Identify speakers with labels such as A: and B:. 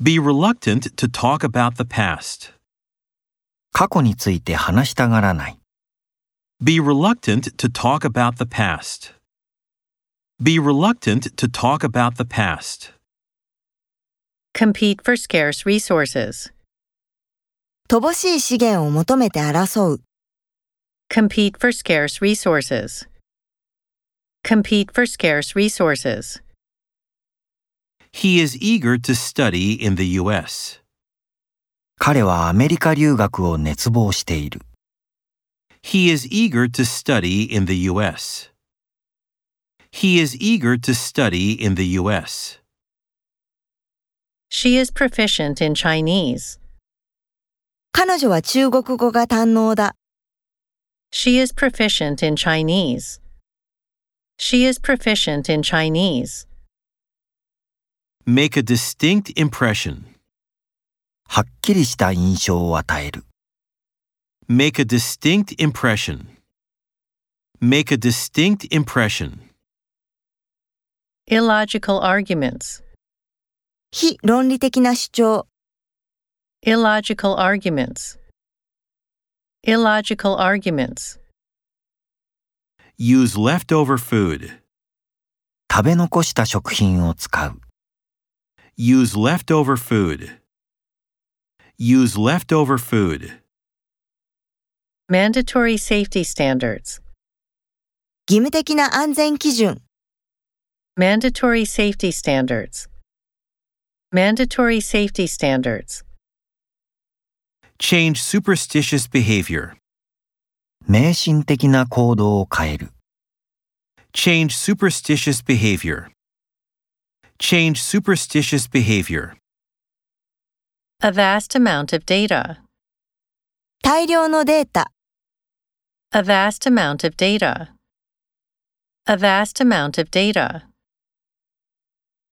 A: Be reluctant to talk about the past.
B: 過去について話したがらない。
A: Be reluctant to talk about the past. Be reluctant to talk about the past.
C: Compete for scarce resources.
D: 乏しい資源を求めて争う。
C: Compete for scarce resources. Compete for scarce resources.
A: He is eager to study in the U.S.
B: 彼はアメリカ留学を熱望している。
A: He is eager to study in the U.S. He is eager to study in the U.S.
C: She is proficient in Chinese.
D: 彼女は中国語が堪能だ。
C: She is proficient in Chinese. She is proficient in Chinese.
A: Make a distinct impression.
B: はっきりした印象を与える。
A: Make a distinct impression. Make a distinct impression.
C: Illogical arguments.
D: 非論理的な主張。
C: Illogical arguments. Illogical arguments.
A: Use leftover food.
B: 食べ残した食品を使う。
A: Use leftover food. Use leftover food.
C: Mandatory safety standards.
D: 義務的な安全基準。
C: Mandatory safety standards. Mandatory safety standards.
A: Change superstitious behavior.
B: 迷信的な行動を変える。
A: Change superstitious behavior. Change superstitious behavior.
C: A vast amount of data.
D: 大量のデータ。
C: A vast amount of data. A vast amount of data.